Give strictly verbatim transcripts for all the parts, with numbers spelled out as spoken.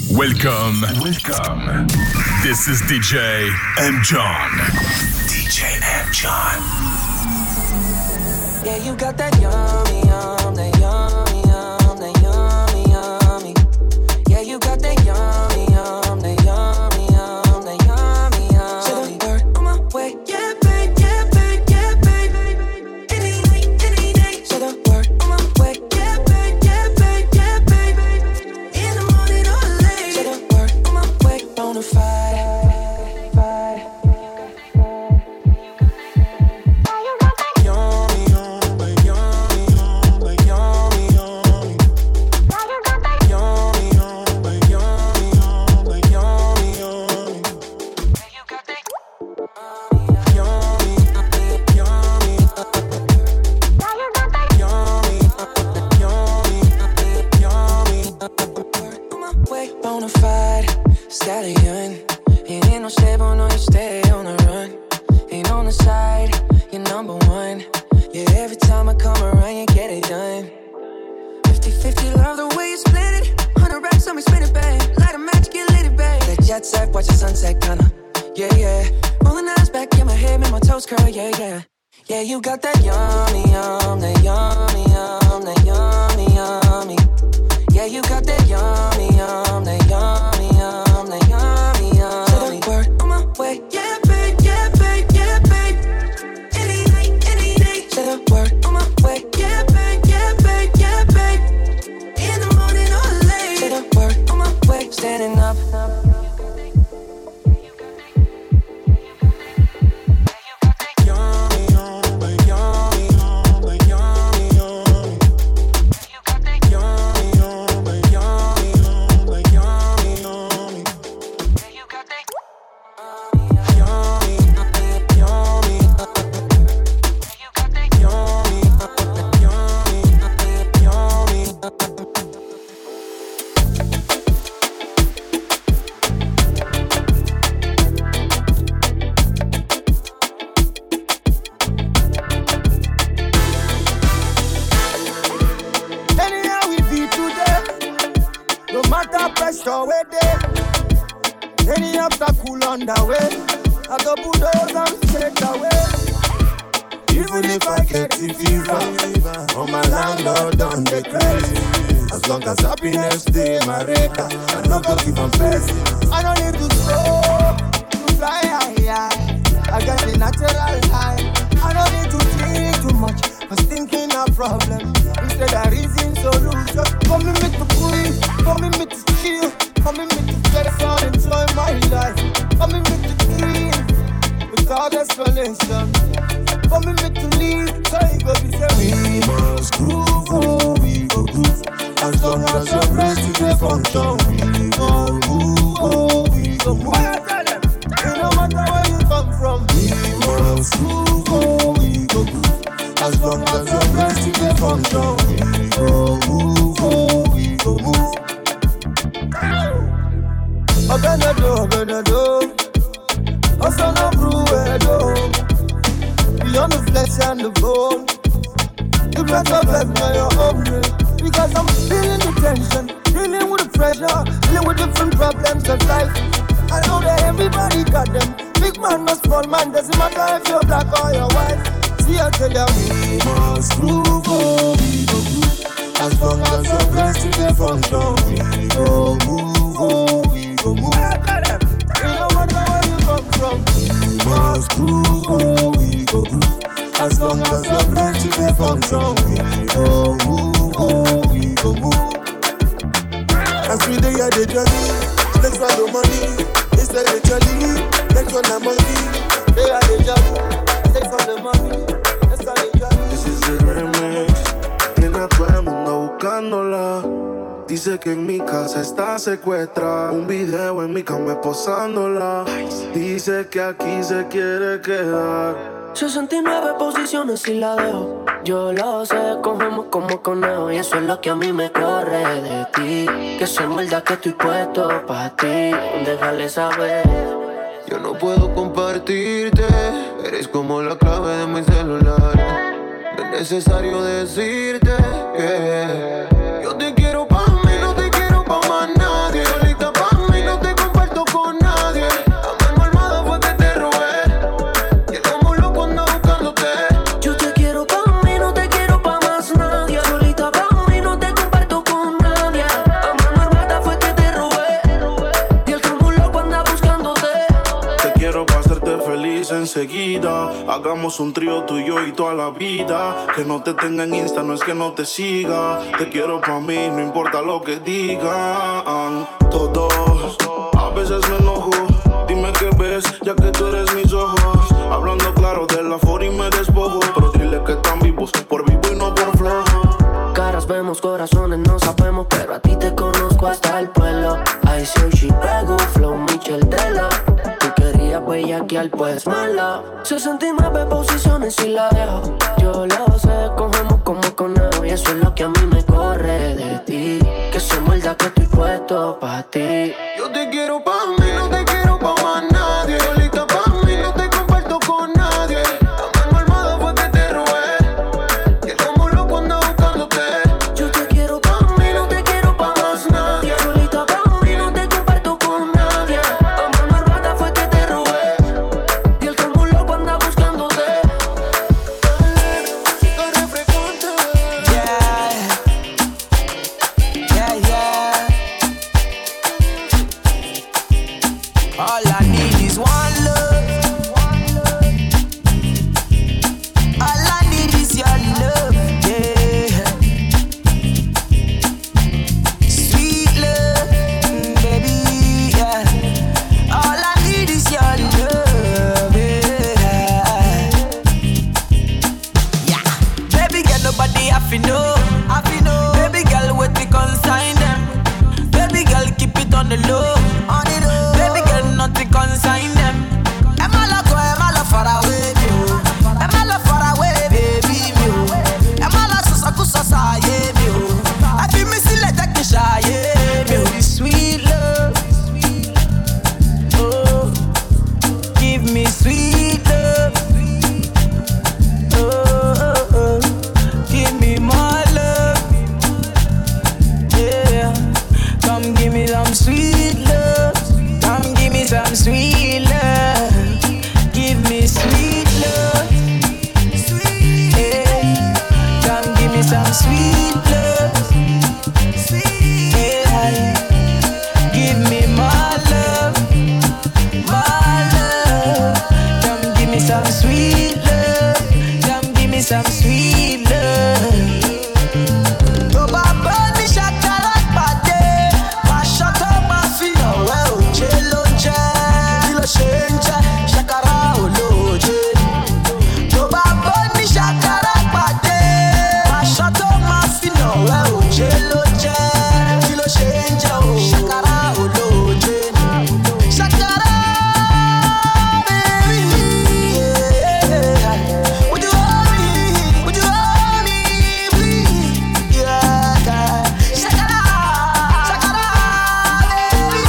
Welcome, welcome. This is D J M. John. D J M. John. Yeah, you got that yummy, yum, that yummy, yum, that yummy, yummy. Yeah, you got that yummy, yum, that yummy, yum, that yummy, yummy. Say the word on my way, yeah, babe, yeah, babe, yeah, babe. Any night, any day. Say the word on my way, yeah, babe, yeah, babe, yeah, babe. In the morning or late. Say the word on my way, bonafide. Stallion, you ain't no stable, no, you stay on the run. Ain't on the side, you're number one. Yeah, every time I come around, you get it done. fifty-fifty, love the way you split it. Hundred racks on me, spin it, babe. Light a match, get lit, it, babe. That jet set, watch the sunset, kinda. Yeah, yeah. Rolling eyes back in my head, make my toes curl, yeah, yeah. Yeah, you got that yummy, yum, that yummy, yum, that yummy, yummy. Yeah, you got that yummy, yum, that yummy, yum, that yummy, yummy. Say the word on my way, yeah, babe, yeah, babe, yeah, babe. Any night, any day. Say the word on my way, yeah, babe, yeah, babe, yeah, babe. In the morning or late. Say the word on my way, standing up. Secuestra un video en mi cama esposándola. Dice que aquí se quiere quedar. sesenta y nueve posiciones y la dejo. Yo lo sé, cogemos como conejo. Y eso es lo que a mí me corre de ti. Que soy verdad que estoy puesto pa' ti. Déjale saber. Yo no puedo compartirte. Eres como la clave de mi celular. No es necesario decirte que yo te quiero pa' mí, no te quiero pa' más nadie. Solita pa' avisa enseguida. Hagamos un trío tú y yo y toda la vida. Que no te tenga en Insta no es que no te siga. Te quiero pa' mí, no importa lo que digan. Todos, a veces me enojo. Dime qué ves, ya que tú eres mis ojos. Hablando claro de la for y me despojo. Pero dile que están vivos, por vivo y no por flojo. Caras vemos, corazones no sabemos, pero a ti te conozco hasta el pueblo. I say she pego, flow Michel Tela. Tú querías bellaquear, pues mala. sesenta y nueve posiciones y la dejo. Yo lo sé, cogemos como conejo. Y eso es lo que a mí me corre de ti. Que se muerda que estoy puesto pa' ti. Yo te quiero pa' mí, no te quiero pa' más nadie. Solita pa' mí, no te comparto con nadie. La mano armada fue que te robé. Y el como loco anda buscándote. Yo te quiero pa' mí, no te quiero pa' más nadie. Solita pa' mí, no te comparto con nadie. La mano armada fue que te robé. Y el como loco anda buscándote. Chica refrescante. Yeah, yeah, yeah. All I need is one love. All I need is your love, yeah. Sweet love, mm, baby, yeah. All I need is your love, yeah. Yeah. Baby girl, nobody have to know, have to know. Baby girl, what we consign them. Baby girl, keep it on the low, on the low. Baby girl, nothing consign them. Am I love, am I love far away, me? Am I love far away, baby, me? Am I love so so so so, yeah, me? I feel me still like that shy, yeah, me. Sweet love, oh, give me sweet love, oh, oh, oh. Give me more love, yeah. Come give me some sweet love. Come give me some sweet love. Give me sweet love. Yeah. Come give me some sweet love. Yeah. Give me more love. More love. Come give me some sweet love. Come give me some sweet love. Oh, Baba, me shakara pate. Ma shaka ma fina well. Chelo che, kilo shencha. Shakara oloje. Oh, Baba, me shakara pate. Ma shaka ma fina well. Chelo che, kilo shencha. Shakara oloje. Shakara, baby, yeah. Would you hold me? Would you hold me, please? Yeah, yeah. Shakara, shakara, baby.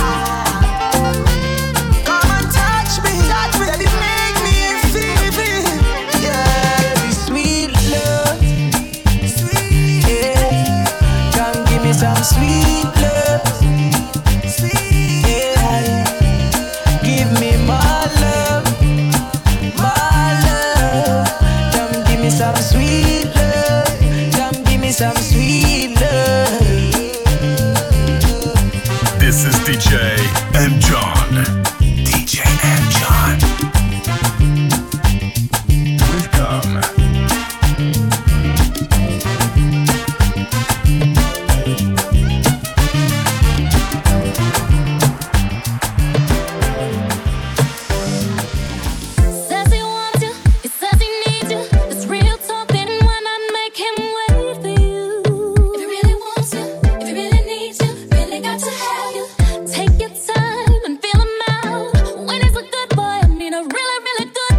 Come and touch me, touch me, baby, make me feel, feel. Yeah, baby, sweet love, sweet, yeah. Come give me some sweet love, sweet, yeah. Give me my love, my love. Come give me some sweet love. Come give me some sweet love. This is D J M John. D J M John. Welcome. Says he wants you, he says he needs you. It's real talk, then why not make him wait for you? If he really wants you, if he really needs you, really got to have you. Take your time and feel him out. When he's a good boy, I mean a really, really good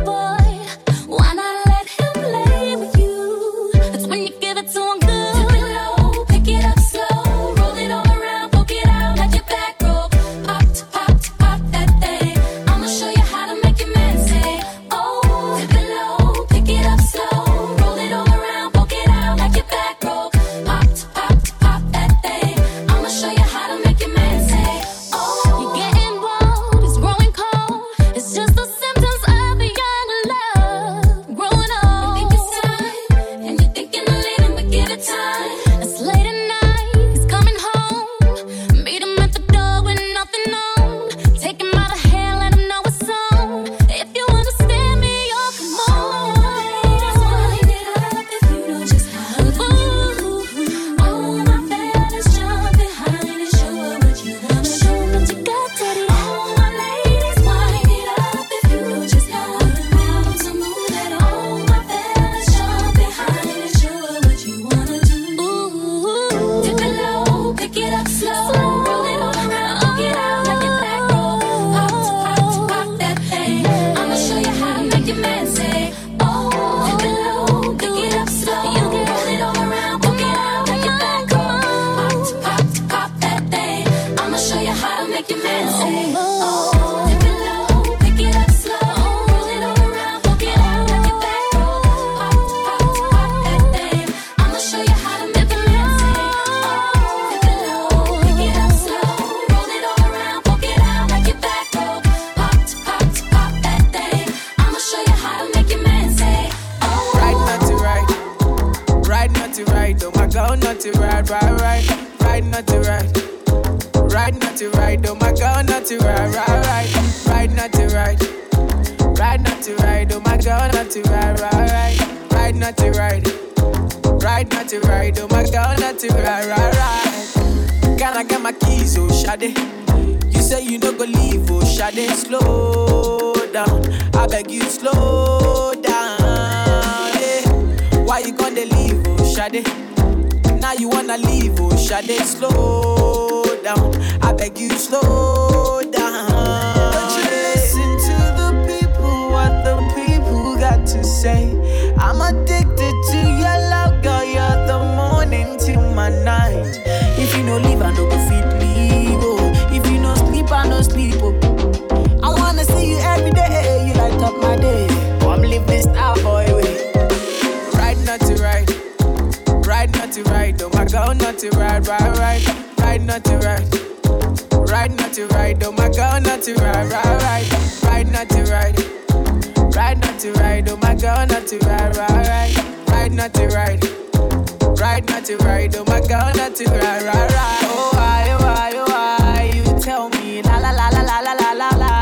Ride not to ride, oh my girl, not to ride, ride, ride. Ride not to ride. Ride not to ride, oh my girl, not to ride, ride, ride. Ride not to ride. Ride not to ride, oh my girl, not to ride, ride, ride. Can I get my keys, oh Shade? You say you no go leave, oh Shade. Slow down, I beg you slow down, yeah. Why you gonna leave, oh Shade? Now you wanna leave, oh Shade. Slow down, I beg you slow down. Don't you listen to the people, what the people got to say. I'm addicted to your love, girl, you're the morning till my night. If you no leave, I no go fit leave, oh. If you no sleep, I no sleep, oh. I wanna see you every day, you light up my day. Come live this star boy way. Ride not to ride, ride not to ride, oh my girl, not to ride, ride, ride. Ride not to ride, ride not to ride, oh my girl, not to ride, ride, ride. Ride not to ride, ride not to ride, oh my girl, not to ride, ride, ride. Ride not to ride, ride not to ride, oh my girl, not to ride, ride, ride. Oh why, oh why, oh why, you tell me la la la la la la la la la.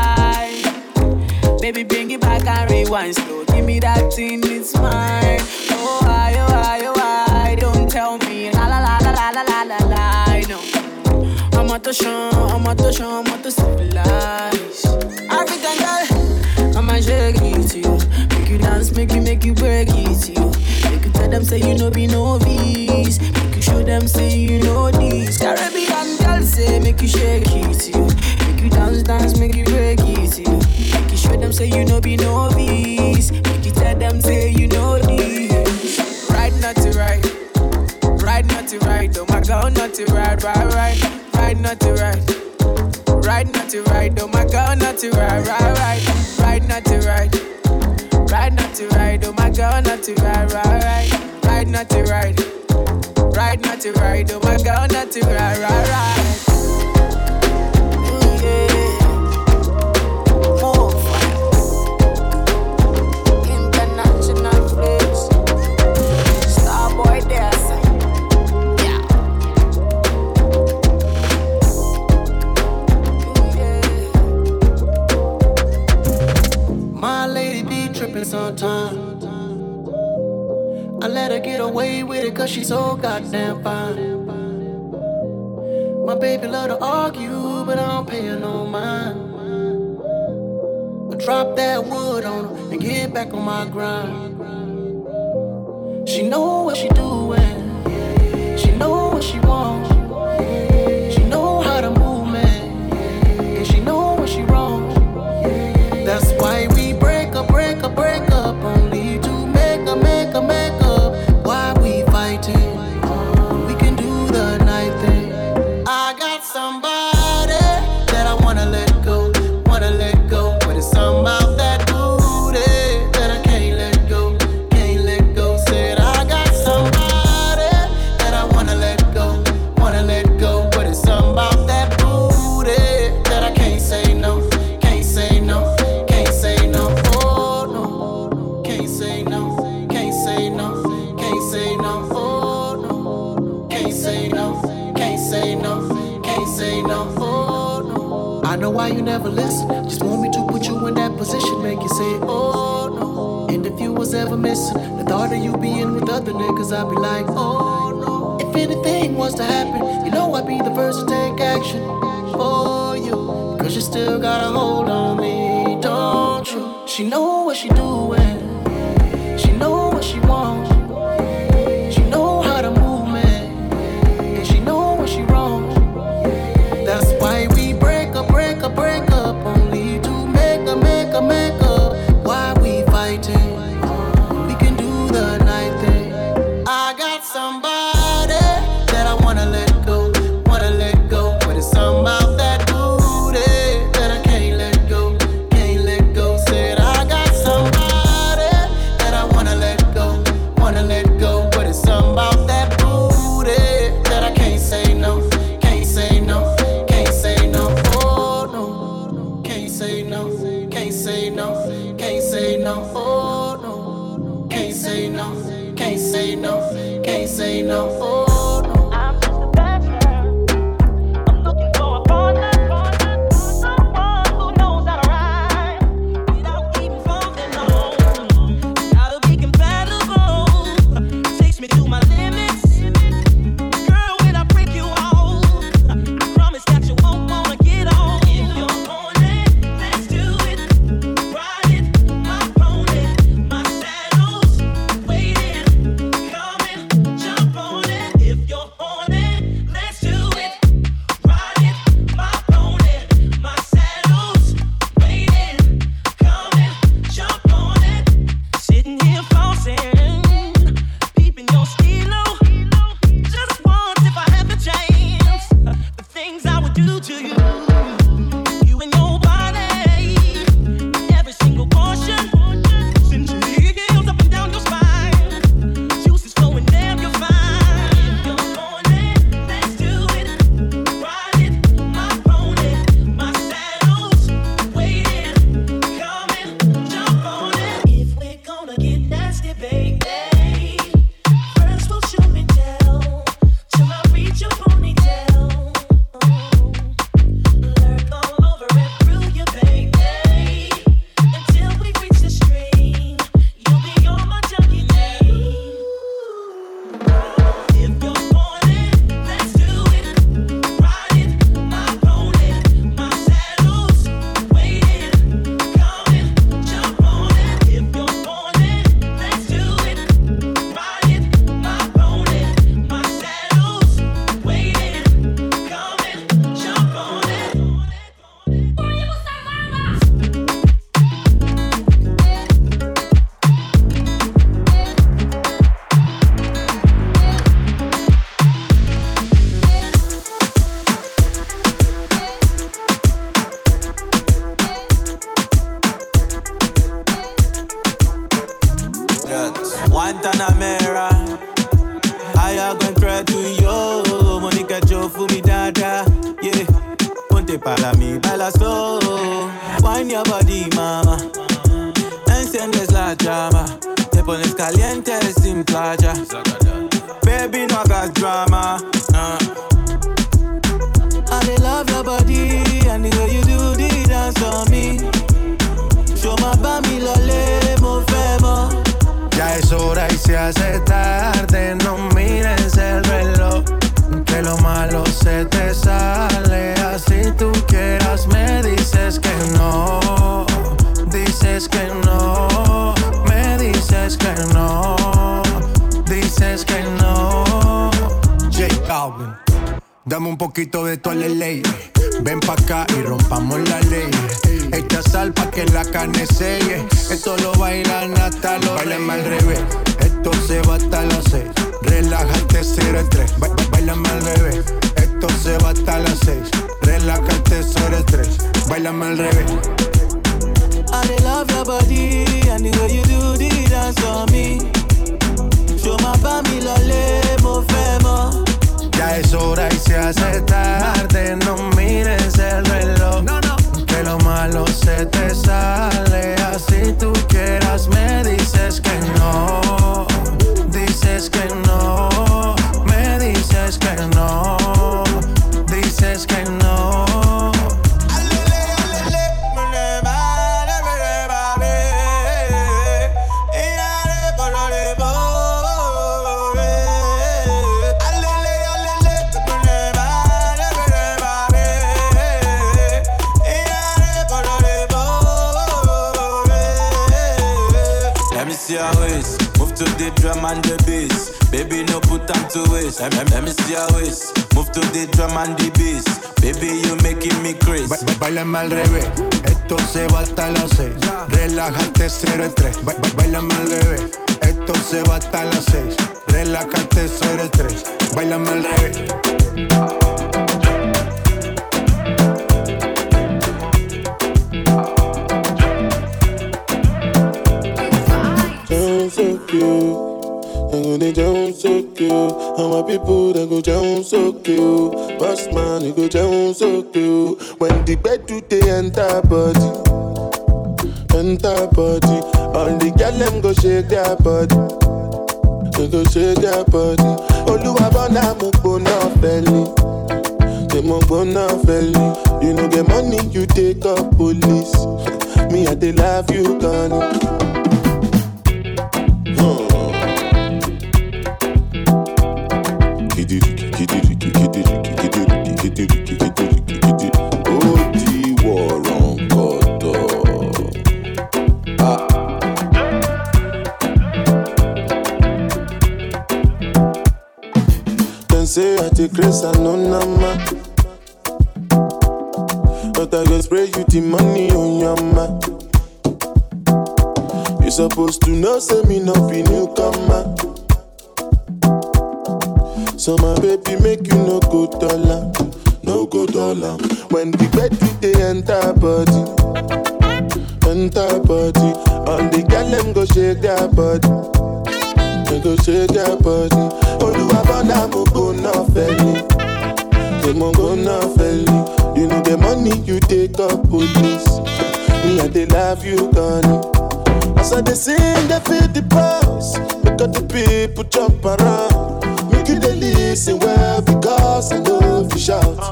Baby, bring it back and rewind slow. Give me that thing, it's mine. Oh why, oh why, oh why, don't tell me la la la la la la la la la. No, I'm out to show, I'm out to show, I'm out to civilize. African girl, I'ma shake it to you. Make you dance, make you, make you break it to you. Make you tell them say you know be novice. Make you show them say you know this. Caribbean girl say make you shake it to you. Make you dance, dance, make you break it to you. Make you show them say you know be novice. Make you tell them say you know this. Ride not to ride, ride not to ride, oh my girl, not to ride, ride, ride. Ride not to ride. Ride not to ride, oh my girl, not to ride, ride, ride. Ride not to ride. Ride not to ride, oh my girl, not to ride, ride, ride. Ride not to ride. Ride not to ride, oh my girl, not to ride, ride, ride. Ooh, yeah. More fire. International flex. Starboy dancing. Yeah. My lady be trippin' sometimes. I let her get away with it cause she's so goddamn fine. My baby love to argue, but I don't pay her no mind. I drop that wood on her and get back on my grind. She know what she doing. She know what she wants. She know how to move, man. And she know when she wrong. That's why we break up, break up, break up. Only to make up, make up, make up. Why we fighting? We can do the night thing. I got somebody that I wanna let go, wanna let go. But it's something about that booty that I can't let go, can't let go. Said I got somebody that I wanna let go, wanna let go. But it's something about that booty that I can't say no, can't say no. Can't say no, oh no. Can't say no, can't say no, can't say no, oh no. Can't say no, can't say no, can't say no, oh no. I know why you never listen. Just want me to put you in that position, make you say, oh no. And if you was ever missing the thought of you being with other niggas, I'd be like, oh no. If anything was to happen, you know I'd be the first to take action for you. Cause you still got a hold on me, don't you? She know what she doing. She know what she wants. She know how to move, man. And she know when she wrong. That's why we break up, break up, break up. Only to make up, make up, make up. Why we fighting? We can do the night thing. I got somebody that I wanna let go, wanna let go. But it's something about that booty that I can't let go, can't let go. Said I got do to you. You and your body, every single portion. Send your heels up and down your spine. Juices flowing down your spine. If you're on it, let's do it. Ride it, my pony, my saddle's waiting. Come and jump on it. If we're gonna get nasty, baby, first we'll show and tell till I reach your ponytail. Lurk all over and through you, baby, until we reach the stream. You'll be on my junkie name. If you're on it, let's do it. Ride it, my pony, my saddle's waiting. Come and jump on it. If you're on it, let's do it. Ride it, my pony, my saddle's waiting. Come and jump on it. Guantanamera, I am going cry to you. Monica Joe for me dada, yeah. Ponte para mí, baila slow. Wine your body, mama. Enciendes la llama. Te pones caliente sin playa. Baby, no hagas drama. Uh. I dey love your body and the way you do the dance on me. Show my bami lole, mo femo. Ya es hora y se hace tarde, no mires el reloj, que lo malo se te sale, así tú quieras me dices que no, dices que no, me dices que no, dices que no. J Balvin, dame un poquito de tu ley, ven pa' acá y rompamos la ley. Echa sal pa' que la carne selle. Esto lo bailan hasta los Báilame al revés, esto se va hasta las seis. Relájate cero estrés. Ba Báilame al revés, esto se va hasta las seis. Relájate cero estrés. Báilame al revés. I dey love your body and the way you do the dance on me. Show my bami lole, mo femo. Ya es hora y se hace tarde, no mires el reloj, no, no. Que lo malo se te sale, así tú quieras me dices que no, dices que no, me dices que no, dices que no. See your waist, move to the drum and the bass. Baby, no put time to waste. Let, let, let me see your waist, move to the drum and the bass. Baby, you making me crazy. Ba Báilame al revés, esto se va hasta las seis. Relájate cero estrés. Ba Báilame al revés, esto se va hasta las seis. Relájate cero estrés. Báilame al revés. So cute, I'm gonna down so cute. How my people that go down so cute. Boss man, you go down so cute. When the bed do they enter body, enter body. All the girl them go shake their body, they go shake their body. Oluwa bona mo bona belly, they mo bona belly. You know the money you take up police. Me I dey love you, Connie. Say I take grace and no nama, but I go spray you the money on your ma. You supposed to know, say me not be newcomer. So my baby make you no go dollar, no go dollar. When the bed they enter body, enter body. And the girl them go shake their body, they go shake their body. Oluwabana mo go na felly, they mo go na felly. You know the money you take up police, me and they love you gone. As I they sing, they feel the pulse. Because the people jump around. Make you they listen well because I know if you shout.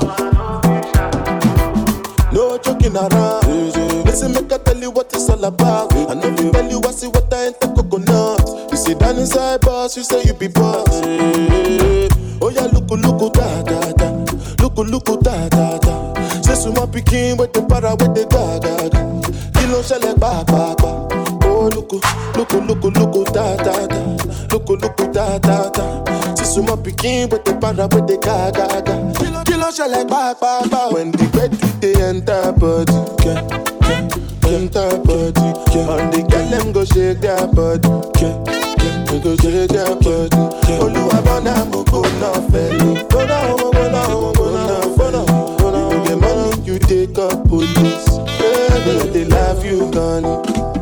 No joking around. Listen, make I tell you what it's all about. I know if you tell you I see what I ain't the coconut. You sit down inside boss, you say you be boss. Oh yeah, look, look, da da da. Look, look, da da da. Say suma picking with the para with the ga ga ga. Kilo shell ba ba ba. Oh, look, look, look, look, da, da, da. Look, look, da, da, da. See my picking with the para with the ga, ga, ga. Kilo, kilo, shall like ba, ba, ba. When the bed they enter body, yeah, yeah, enter body, yeah. And the girl them go shake their body, yeah, yeah, they go shake their body. Oluwabana mo go na felly, go na, go na, go na, go na, go na. You get money, you take up police, yeah, they, they love you, gone.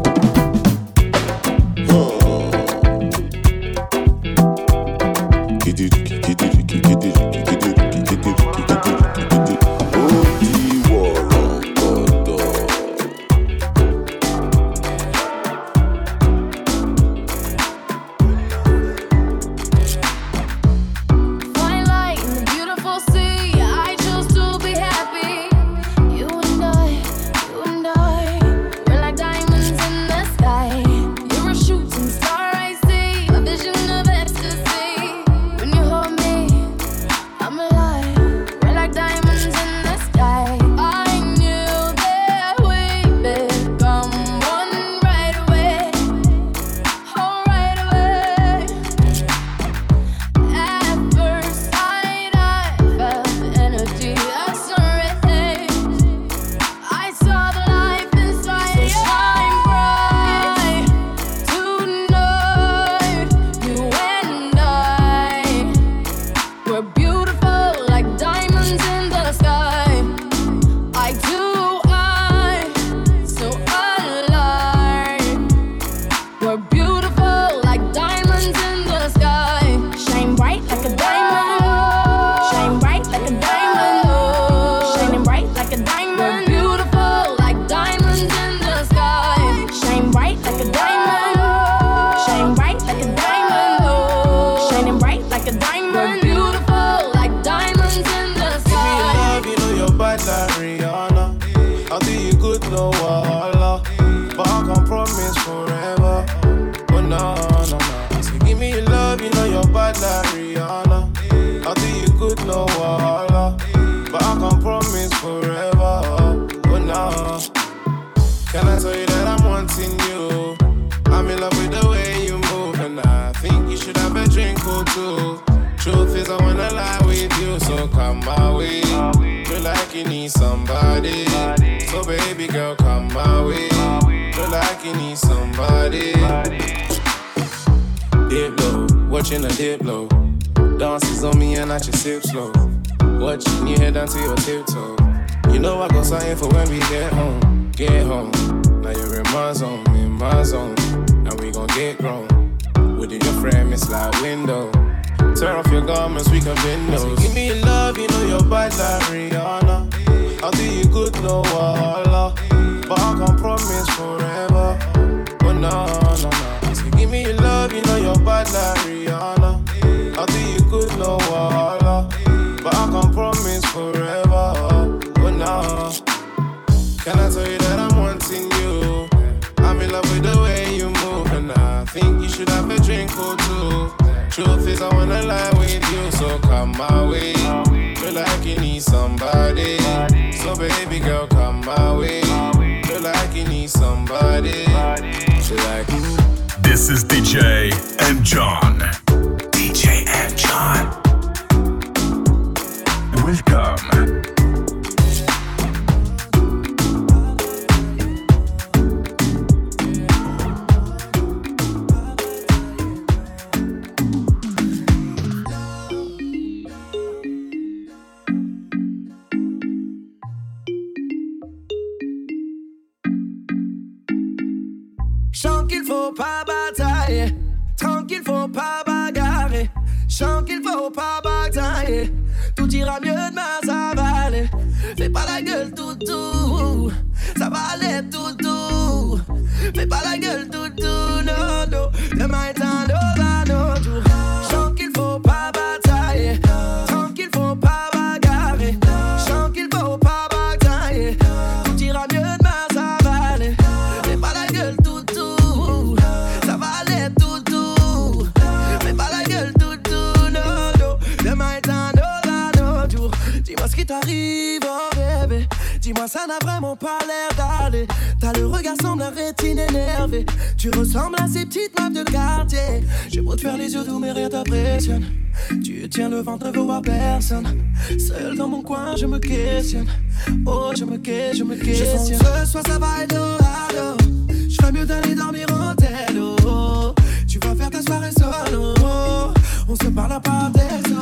This is D J M John. D J M John. Welcome. Chant qu'il faut pas batailler, tranquille faut pas bagarrer. Chant qu'il faut pas batailler, tout ira mieux demain ça va aller. Fais pas la gueule toutou, ça va aller toutou. Fais pas la gueule toutou, non non. Demain est un autre jour. Chant qu'il faut pas batailler, tranquille faut pas bagarrer. Chant qu'il faut pas batailler, tout ira mieux demain ça va aller. Fais pas la gueule toutou, ça va aller toutou. Fais pas la gueule toutou, non non. Demain est un autre jour. Dis-moi ce qui t'arrive, oh bébé. Dis-moi ça n'a vraiment pas l'air d'aller. T'as le regard semble la rétine énervée. Tu ressembles à ces petites meufs de quartier. J'ai beau te faire les yeux doux mais rien t'impressionne. Tu tiens le ventre, ne veux voir personne. Seul dans mon coin je me questionne. Oh je me questionne, je me questionne. Je sens que ce soir ça va être orado. Je ferais mieux d'aller dormir en tel. Oh, tu vas faire ta soirée solo. On se parle par texto.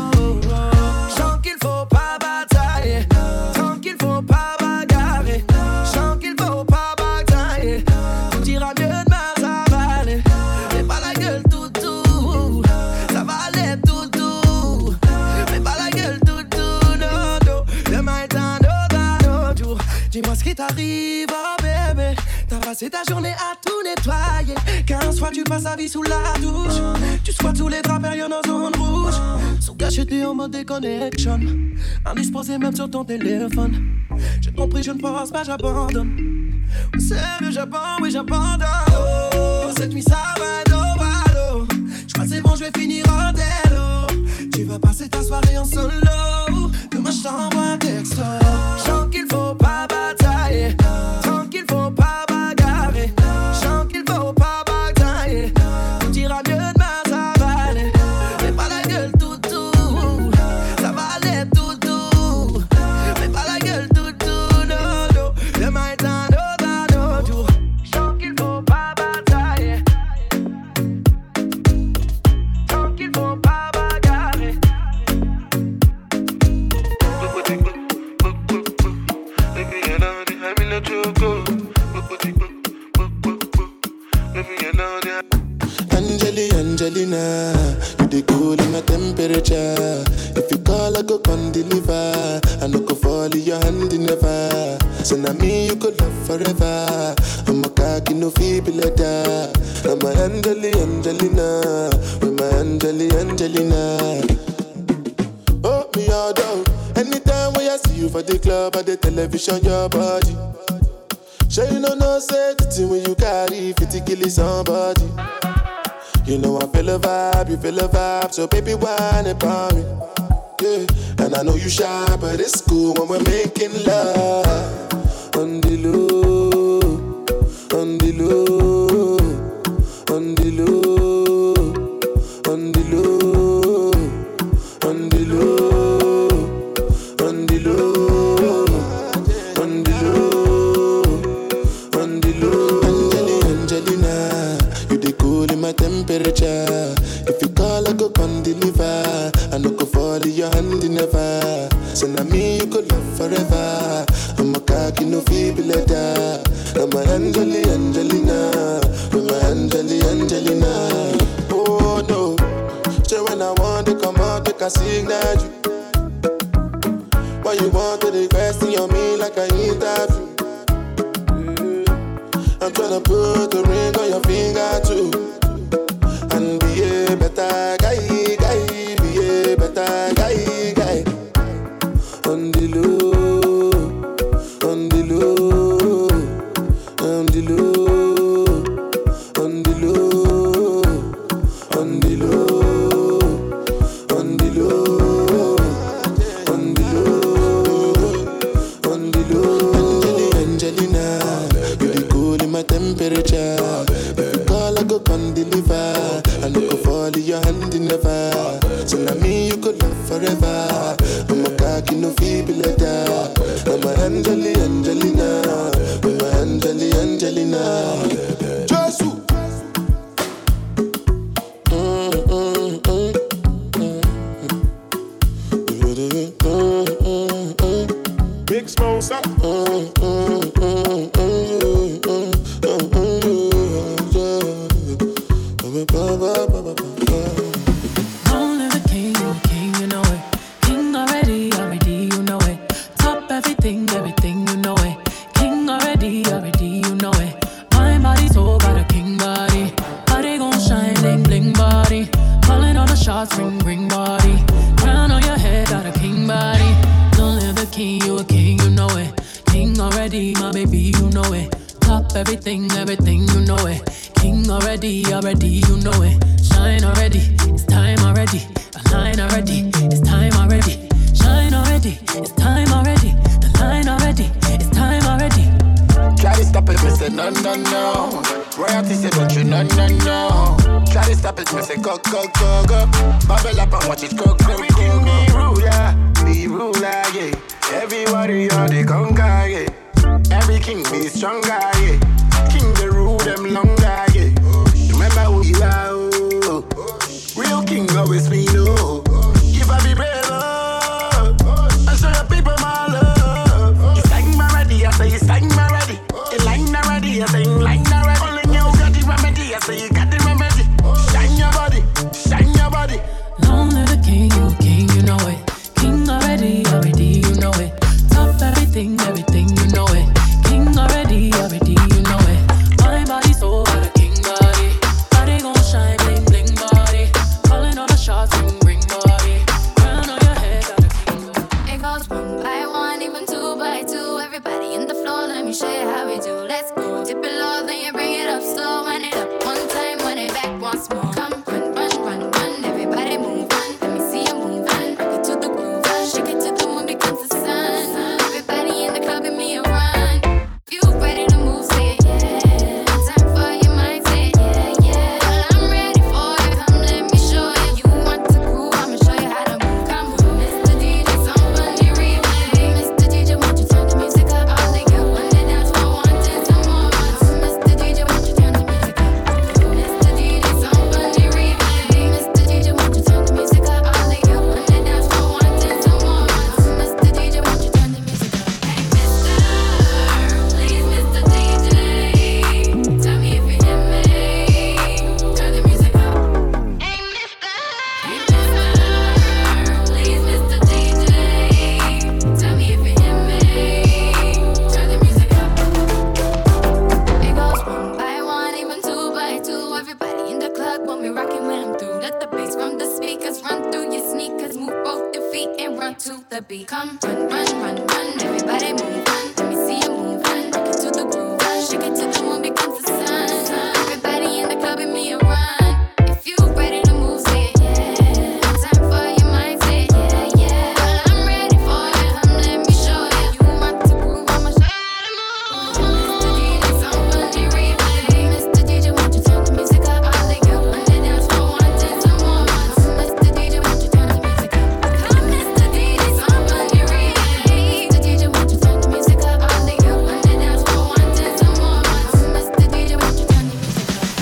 Chant qu'il faut pas batailler, tranquille faut pas bagarrer. Chant qu'il faut pas batailler, tout ira mieux demain ça va aller. Fais pas la gueule toutou, ça va aller toutou. Fais pas la gueule toutou, non non. Demain est un autre jour. Dis-moi ce qui t'arrive, oh bébé. T'as passé ta journée à tout nettoyer. Quinze fois tu passes ta vie sous la douche. Tu squattes sous les draps périodes en zone rouge. Sous cachette en mode déconnection. Indisposé même sur ton téléphone. J'ai compris, je ne pense pas, j'abandonne. Sérieux, j'abandonne, oui j'abandonne. Oh, cette nuit ça va être au ballot. J'crois c'est bon, je vais finir en délo. Tu vas passer ta soirée en solo. Demain je t'envoie un texto. Chant qu'il faut pas batailler, tranquille faut pas bagarrer. Chant qu'il faut pas batailler, tout ira mieux demain ça va aller. Fais pas la gueule toutou, ça va aller toutou. Fais pas la gueule toutou, non non. Demain est un autre jour. Chant qu'il faut pas batailler, tranquille faut pas bagarrer. Angeli, Angelina, you the cool in my temperature. If you call, I go come deliver. I no go fall in your hand never. So now me you could love forever. I'm a cocky no feeble letter. I'm a Angeli, Angelina, with my Angeli, Angelina. Oh me all down. Anytime when I see you for the club or the television, your body. Sure you know no safety when you carry fifty kill somebody. You know I feel a vibe, you feel a vibe, so baby whine about me. Yeah, and I know you shy, but it's cool when we're making love. On the low, on the low, on the low, on the low, on the low, on the low, on the low, on the low. Angelina, you the cool in my temperature. If you call, I go come deliver. I no go fall in your hand never. So now me you could love forever. I'm a cocky no feeble letter. I'm a Angeli, Angelina, I'm a Angeli, Angelina. Oh no, so when I want to come out, make I signal you. Why you want to request on me like I interview? I'm tryna put the ring on your finger too. And be a better guy, guy, be a better guy, guy. On the low, on the low, on the low, on the low, on the low, on the low, on the low, on the low. Angelina, you the cool in my temperature. If you call, I go come deliver. I no go fall in your hand never. So now me you could love forever. I'm a cocky no feeble letter. I'm a Angeli, Angelina, I'm a Angeli, Angelina. Jesus. Mm, mm, mm, mm, mm. Mm, mm, mm. Big Smosa. Mm, mm, mm, mm, mm, mm, mm, mm, yeah. Only the king, you a king, you know it. King already, already, you know it. Top everything, everything, you know it. King already, already, you know it. My body, soul, got a king body. Body gon' shine, bling, bling body. Calling all the shots, ring, ring body. Crown on your head, got a king body. Only the king, you a king, you know it. King already, my baby, you know it. Top everything, everything, you know it. King already, already, you know it. Shine already, it's time already. Align already, it's time already. Shine already, it's time already. The line already, it's time already. Try to stop it, me say no, no, no. Royalty say don't you, no, no, no. Try to stop it, me say go, go, go, go. Bubble up and watch it go, go, go, go. Be ruler, be ruler, yeah. Everybody on the conga, yeah. Every king be stronger, yeah. King the rule them longer, yeah. Remember who you are, oh. Real king always be no. If I be brave, oh. I show your people my love. You sang my ready, I say you sang my ready. You line already, I say you line already. Only you got the remedy, I say you got the remedy. Shine your body, shine your body. Long live the king, you a king, you know it. King already, already, you know it. Top everything, everything, you know it. King already, already, you know it. My body, soul, got a king body. Body gon' shine, bling, bling body. Calling all the shots, ring, ring body. Crown on your head, got a king body. It goes one by one, even two by two. Everybody in the floor, let me show you how we do. Let's go. Dip it low, then you bring it up slow. Run it up one time, run it back once more. Come, run, run, run, run. Everybody move on. Let me see you move on. Rock it to the groove. Shake it to the moon becomes the sun. Everybody in the club, give me a run. If you ready to move, say yeah. Time for your mind, say yeah, yeah. Well, I'm ready for you. Come, let me show you. You want to groove, I'ma show you how to move. Come on, Mister D J, somebody replay. Mister D J, won't you turn the music up? All they got one to dance for, wanting some more. Mister D J, won't you turn the music up? Mister D J, somebody replay. Mister D J, won't you turn the music up? All they got one to dance for, wanting some more. Mister D J, won't you turn the music up? Hey, Mister, please, Mister D J, tell me if you hear me. Turn the music up. Hey, Mister, hey, Mister, please, Mister D J, tell me if you hear me. Turn the music up. It goes one by one, even two by two. Everybody in the club when we rockin' when I'm through. Let the bass from the speakers run through your sneakers. Move both your feet and run to the beat. Come, run, run, run, run. Everybody move on. Let me see you move on. Rock it to the groove. Shake it till the moon becomes the sun. Everybody in the club, give me a run. If you ready to move, say yeah. Time for your mind, say yeah, yeah. Well, I'm ready for you. Come, let me show you. You want to groove, I'ma show you how to move. Mister D J, somebody replay. Mister D J, won't you turn the music up? All they got one to dance for, wanting some more. Mister D J, won't you turn the music up? Come, Mister D J, somebody replay. Mister D J, won't you turn the music up? All they got one to dance for, wanting some more. Mister D J, won't you turn the music up?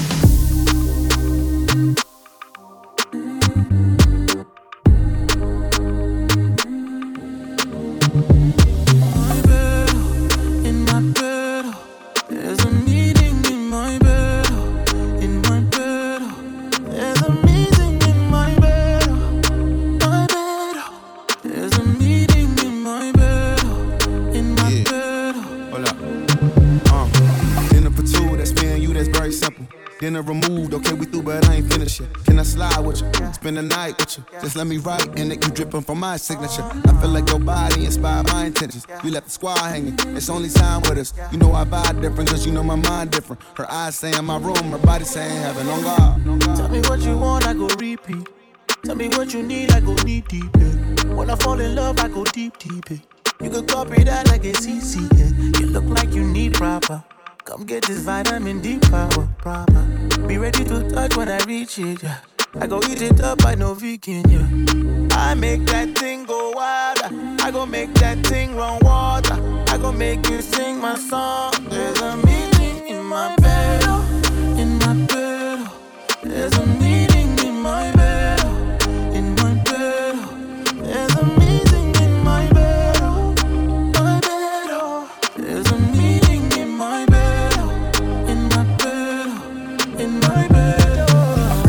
My bed, in my bed, there's a meeting in my bed, in my bed, there's a meeting in my bed, my bed, there's a meeting in my bed, in my Yeah. bed. Hold up. Uh, dinner for two, that's me and you, that's very simple. Dinner removed, okay, we through, but I ain't finished yet. Can I slide with you? Spend the night with you. Just let me write, and it you dripping from my signature. I feel like your body inspired my intentions. You left the squad hanging, it's only time with us. You know I vibe different, cause you know my mind different. Her eyes saying my room, her body saying heaven on God. Tell me what you want, I go repeat. Tell me what you need, I go deep, deep. Yeah. When I fall in love, I go deep, deep. Yeah. You could copy that like a C C. Yeah. You look like you need proper. Come get this vitamin D power, proper. Be ready to touch when I reach it, yeah. I go eat it up, I know vegan, yeah. I make that thing go wild. I go make that thing run water. I go make you sing my song. There's a meeting in my bed, in my bed. There's a meeting in my bed, in my bed. There's a meeting in my bed, my bed. There's a meeting in my bed, in my bed, in my bed.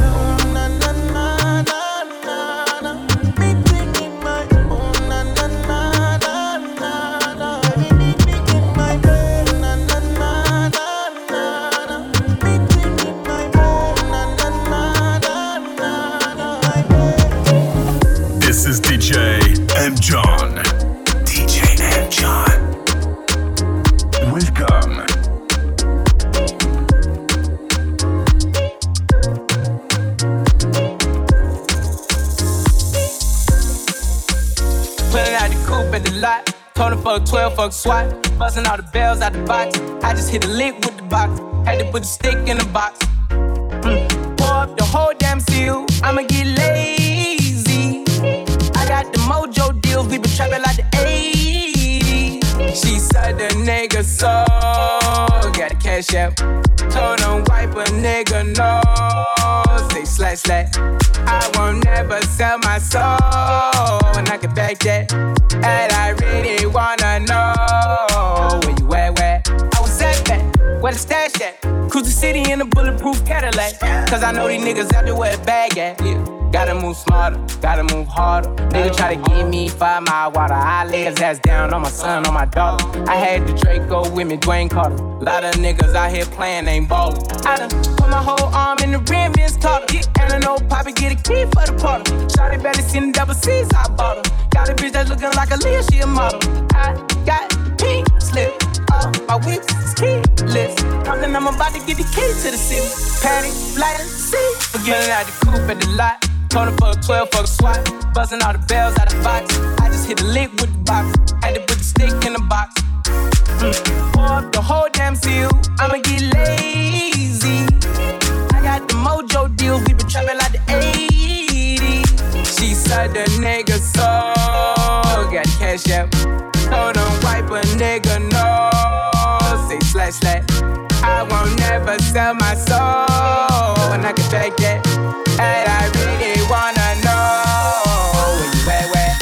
Welcome. Pulling out the coupe at the lot. Told him fuck twelve, fuck SWAT. Busting all the bells out the box. I just hit a lick with the box. Had to put the stick in the box. Mm. Pour up the whole damn seal. I'ma get lazy. I got the mojo deals. We been trapping like the eighties. She said the nigga so. Got the cash out. Told him wipe a nigga no. Say slash slash. I won't never sell my soul. And I can back that. And I really wanna know where you at, where I was at that, where the stash at. Cruise the city in a bulletproof Cadillac. Cause I know these niggas out there where the bag at. Yeah. Gotta move smarter, gotta move harder. Nigga try to give me five mile water. I lay his ass down on my son, on my daughter. I had the Draco with me, Dwayne Carter. Lot of niggas out here playing, ain't ballin'. I done put my whole arm in the rim, Vince Carter. And I know Poppy get a key for the party. Shawty better seen the double C's, I bought her. Got a bitch that's looking like a Leah, she a model. I got pink slip, all my whips is keyless. Something I'm about to get the key to the city. Patty, lighter, see. Forgetting out the coupe at the lot. Told him fuck twelve, fuck SWAT. Buzzing all the bells out the box. I just hit a lick with the box. Had to put the stick in the box. Mm. Pour up the whole damn seal. I'ma get lazy. I got the mojo deals. We been trapping like the eighties. She said the nigga so. Got the cash out. Told him wipe a nigga no. Say slash slash. I won't never sell my soul. And I can back that. And I really wanna know where you at, where?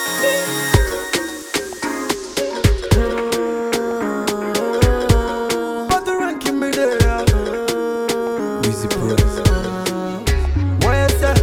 But the ranking me there. Easy pros. Where's that?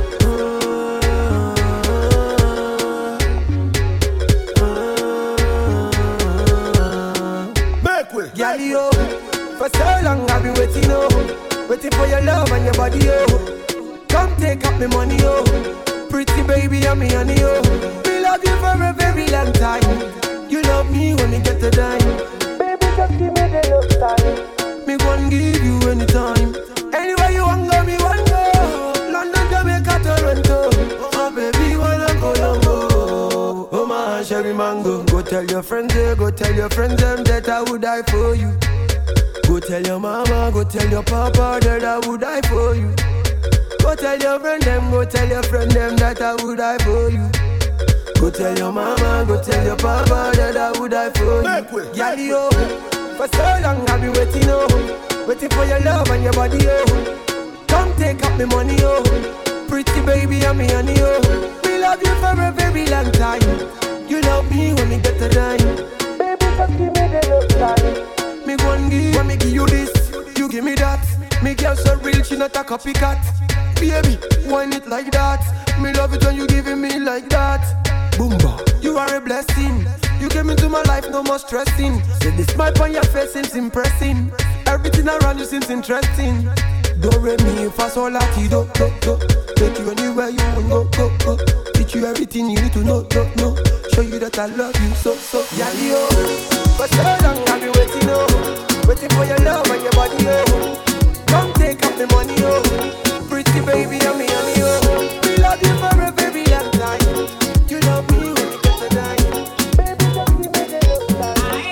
Make way. Gally, oh. For so long I've been waiting, oh. Waiting for your love and your body, oh. Come take up my money, oh. Pretty baby, I'm me honey, oh. We love you for a very long time. You love me when you get the dime. Baby, just give me the love time. Me gon' give you anytime. Anywhere you want go, me want go. London, Jamaica, Toronto. Oh, baby, wanna go Longo. Oh, my Sherry Mango. Go tell your friends, yeah, go tell your friends them that I would die for you. Go tell your mama, go tell your papa that I would die for you. Go tell your friend them, go tell your friend them that I would die for you. Go tell your mama, go tell your papa that I would die for you. Yali, oh, for so long I've been waiting, oh. Waiting for your love and your body, oh. Come take up my money, oh. Pretty baby, I'm me honey, oh. We love you for a very long time. You love me when we get the dime. Baby, just give me the love time. Me gon' give, when me give you this, you give me that. Me girl so real, she not a copycat. Baby, whine it like that. Me love it when you giving me like that. Boomba, you are a blessing. You came into my life, no more stressing. Say the smile on your face seems impressing. Everything around you seems interesting. Don't re me fa sol la ti do do do. Take you anywhere you want go go go. Teach you everything you need to know know know. Show you that I love you so so. Yali oh, for so long I've been waiting oh, waiting for your love and your body oh. Come take up the money oh. Pretty baby, I'm me, I'm me, oh. We love you for a very long time. You love me when you get the dime. Baby, just give me the love time.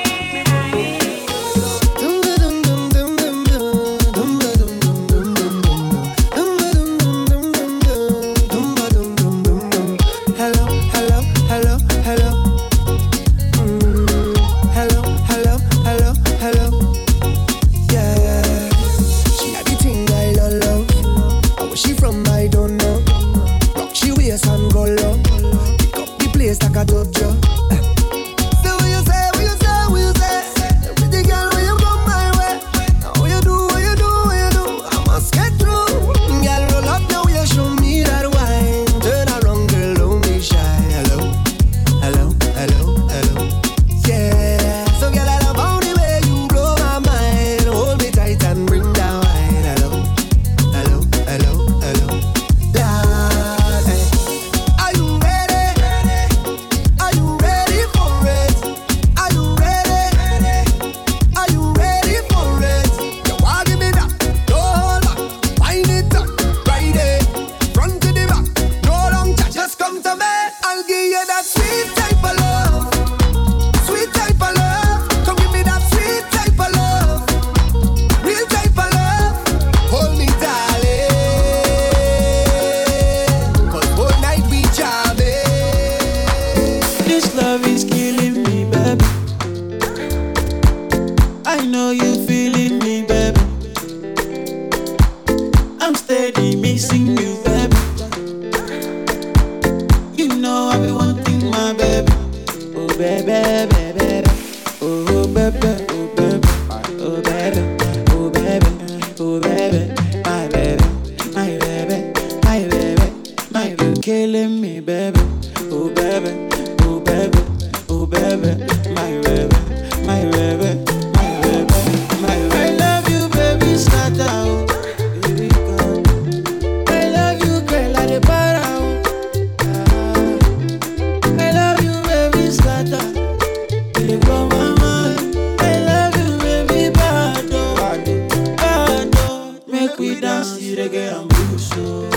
Hello, hello, hello, hello. Mm, hello, hello, hello, hello. Yeah, she had the thing I love. I know you feeling me, baby. I'm steady missing you, baby. You know I be wanting my baby. Oh baby, baby, baby. Oh baby, oh baby, oh baby, oh baby, oh baby, my baby, my baby, my baby, my baby, killing me, baby. Oh baby, oh baby, oh baby, my baby, my baby, my baby, my baby. I love you, baby, scatter. Oh. Baby, God. I love you, girl, I dey para. Oh. Ah. I love you, baby, scatter. You blow my mind. I love you, baby, bad, oh. Bad, oh. Make we dance to reggae and blues, oh.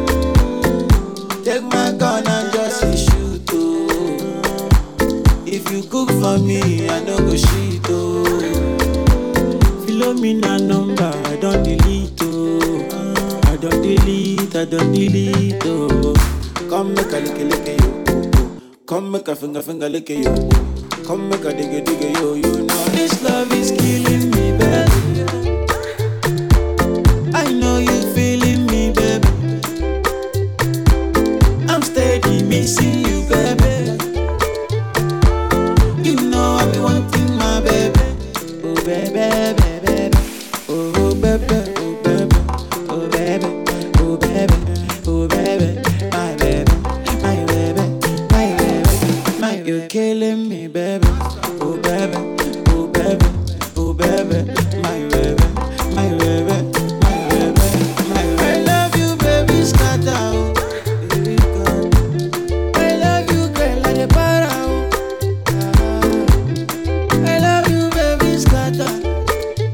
Take my gun and just shoot, oh. If you cook for me, I don't go shit, oh. Follow me na number, I don't delete, oh. I don't delete, I don't delete, oh. Come make a lick a lick a yo, oh, oh. Come make a finger finger lick a yo, oh. Come make a dig a dig a yo. You know this love is killing me, baby. I know you feeling me, baby. I'm steady missing you, baby. You know I be wanting my baby. Oh baby, baby, baby. Oh baby, oh baby, oh baby, oh baby, oh baby, my baby, my baby, my baby, my baby. You're killing me, baby. Oh baby, oh baby, oh baby, my baby, my baby, my baby, my baby. I love you, baby, scatter. Oh. Baby, God. I love you, girl, I dey para. Oh. Ah. I love you, baby, scatter.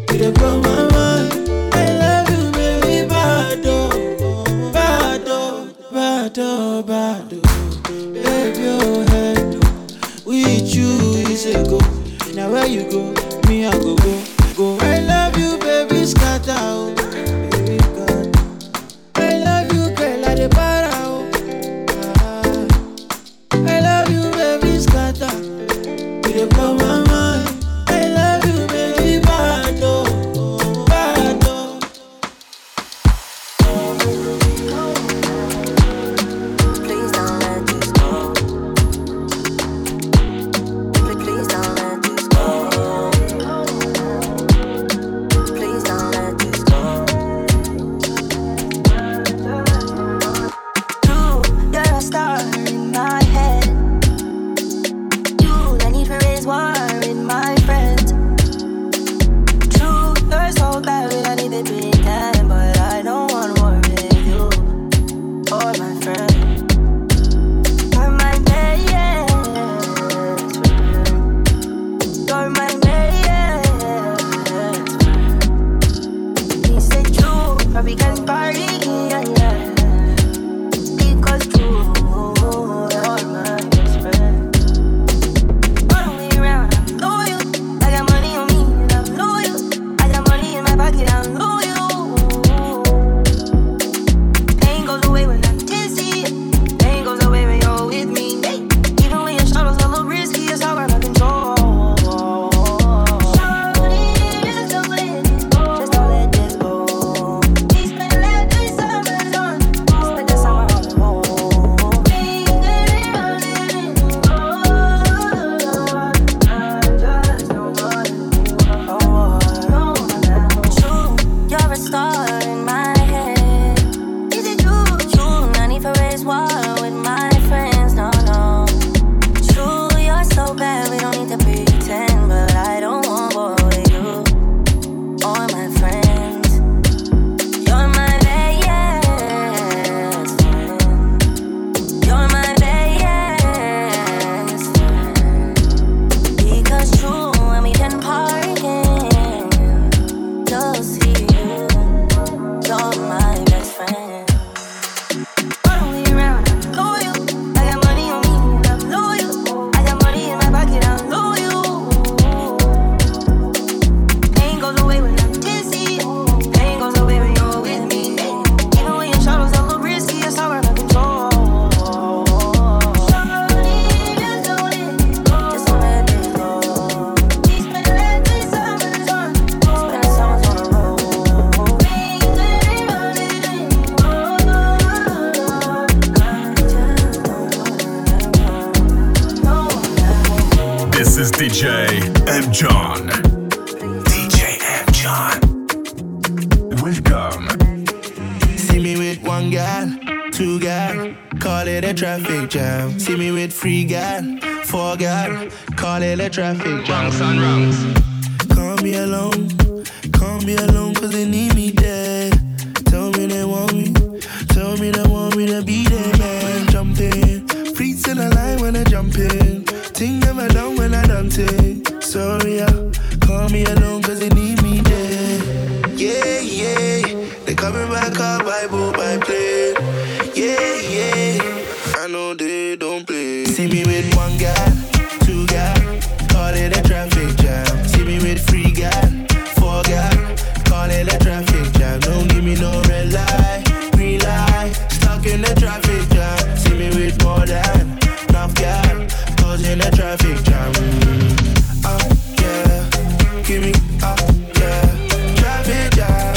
D J M John. D J M John. Welcome. See me with one gal, two gal, call it a traffic jam. See me with three gal, four gal, call it a traffic jam. Wrongs on wrongs. Call me alone, call me alone cause they need me there. Tell me they want me, tell me they want me to be there, man. Jump in, freaks in the line when I jump in. Think never done when I done it. Sorry, yeah, call me alone cause they need me there. Yeah, yeah. They coming back up by boat, by plane. Yeah, yeah. I know they don't play. See me with one guy, two guy, call it a traffic jam. See me with three guy, four guy, call it a traffic jam. Don't give me no red light, green light, stuck in the traffic jam. See me with more than enough guy, causing a traffic jam. Oh yeah, give me up, yeah, traffic jam.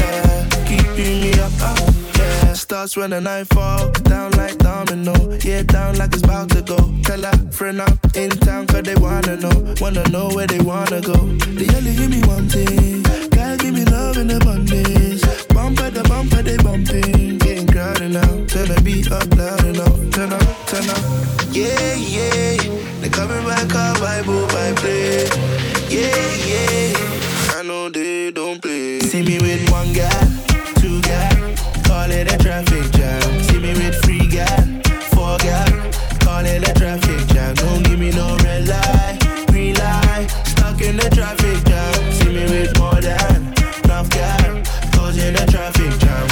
Starts when the night fall, down like domino. Yeah, down like it's about to go. Tell a friend I'm in town cause they wanna know. Wanna know where they wanna go. They only give me one thing. Gotta give me love in abundance. Bump at the bumper, they bumping. Getting crowded now. Turn the beat up loud enough. Turn up, turn up. Yeah, yeah. They coming back up by boat, by plane. Yeah, yeah. I know they don't play. See me with one guy, two guy, call it a traffic jam. See me with three guy, four guy, call it a traffic jam. Don't give me no red light, green light, stuck in the traffic jam. See me with more than enough guy, causing a traffic jam.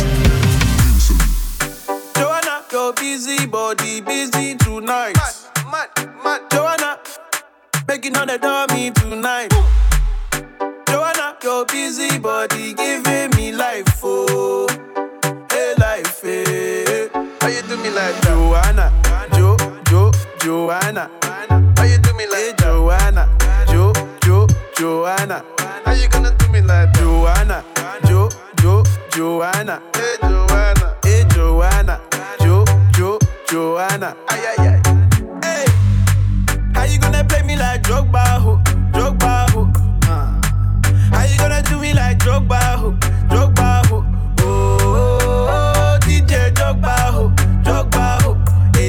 Joanna, your busy body busy tonight. Mad, mad, mad. Joanna, making all the dummy tonight. Joanna, your busy body giving me life, oh. Life, eh? How you do me like Joanna? Jo, Jo, Joanna. How you do me like Joanna? Jo, Jo, Joanna. How you gonna do me like Joanna? Jo, Jo, Joanna. Hey Joanna, hey Joanna. Jo, Jo, Joanna. Ay ay ay. Hey, how you gonna play me like Drogba, ho? Drogba, ho? Uh. How you gonna do me like Drogba, ho? Drogba, ho? Drogba ho, Drogba ho,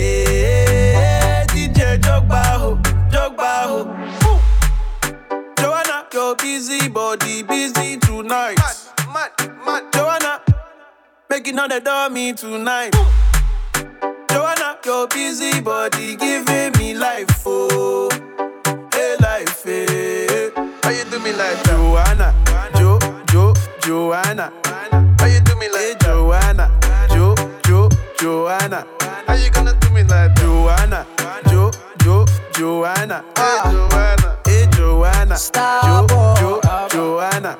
eh, D J Drogba ho, Drogba ho. Joanna, your busy body busy tonight. Mad, mad, mad. Joanna, making all the dummy tonight. Joanna, your busy body giving me life, oh, hey life, eh. How you do me like Joanna, Jo, Jo, Joanna. How you do me like Joanna? Jo, Jo, Joanna. How you gonna do me like Joanna? Jo, Jo, Joanna. Hey Joanna, hey Joanna. Stop, Jo, Jo, Joanna.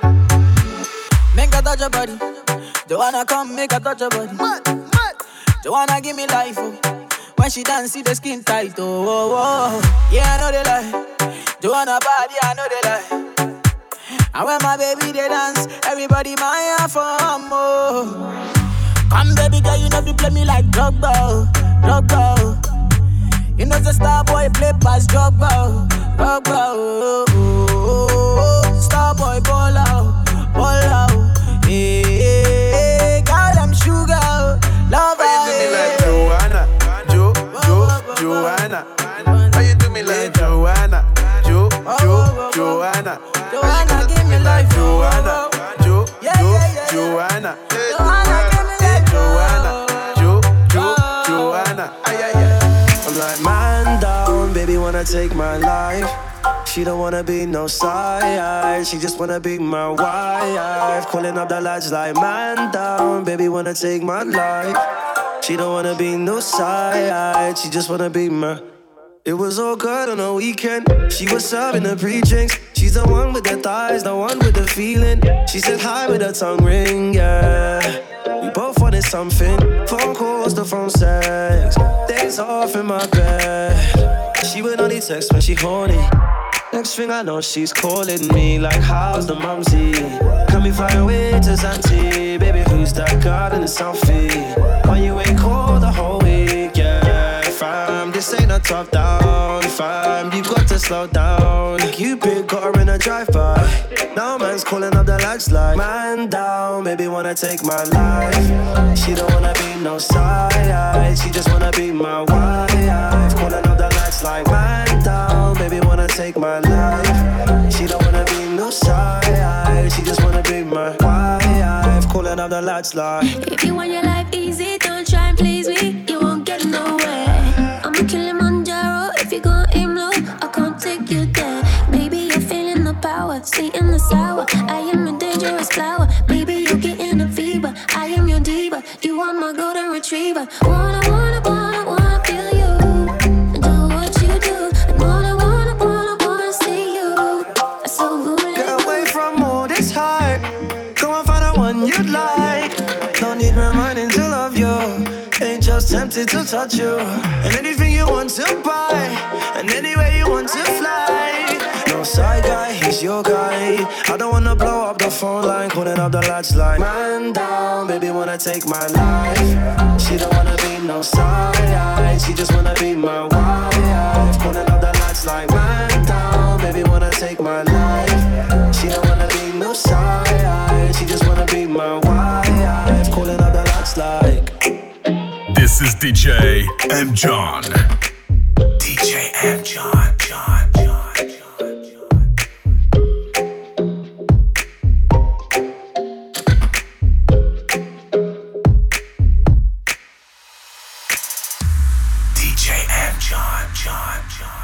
Make a touch your body. Joanna, come make a touch your body. Mad, mad. Joanna, give me life, oh. When she dance, see the skin tight, oh, oh, oh. Yeah, I know they lie. Joanna body, I know they lie. And when my baby they dance, everybody my for more. Come baby girl, you know you play me like Drogba, Drogba. You know the star boy play past Drogba, Drogba. Oh, oh, oh, oh. Star boy ball out, ball out. Hey, hey, girl I'm sugar, love her. How you do me like Joanna, Jo, Jo, Joanna? How you do me like Joanna, Jo, Jo, Joanna? Joanna, give me life, Joanna, Jo, Jo, Joanna. Joanna, give me life, Joanna, Jo, Jo, Joanna. Ay, ay, ay. I'm like, man down, baby wanna take my life. She don't wanna be no side, she just wanna be my wife. Calling up the lights like, man down, baby wanna take my life. She don't wanna be no side, she just wanna be my. It was all good on the weekend. She was serving the pre-drinks. She's the one with the thighs, the one with the feeling. She said hi with her tongue ring, yeah. We both wanted something. Phone calls, the phone sex. Days off in my bed. She would only text when she horny. Next thing I know, she's calling me like, how's the mumsy? Can we fly away to Zante? Baby, who's that girl in the selfie? Why you ain't called the whole week, yeah, fam? This this ain't a top down, fam. You've got to slow down. Cupid got her in a drive-by. Now man's calling up the lights like, man down, baby wanna take my life. She don't wanna be no side, she just wanna be my wife. Calling up the lights like, man down, baby wanna take my life. She don't wanna be no side, she just wanna be my wife. Calling up the lights like, if you want your life easy, don't try and please me, you won't get nowhere. I'm a Kilimanjaro, if you gon' aim low, I can't take you there. Baby, you're feeling the power, sweet in the sour. I am a dangerous flower, baby, you're getting a fever. I am your diva, you are my golden retriever. Wanna, wanna, wanna, wanna feel you, do what you do. And wanna, wanna, wanna, wanna see you. I so good. Get away from all this hype, go and find the one you'd like. Don't need reminding to love you, ain't just tempted to touch you. And anything you want to buy, and anywhere you want to fly. No side guy, he's your guy. I don't wanna blow up the phone line, calling up the lights like, man down, baby wanna take my life. She don't wanna be no side, she just wanna be my wife. Calling up the lights like, man down, baby wanna take my life. She don't wanna be no side, she just wanna be my wife. Calling up the lights like, this is D J M John. D J M John, John, John, John, John. D J M John, John, John.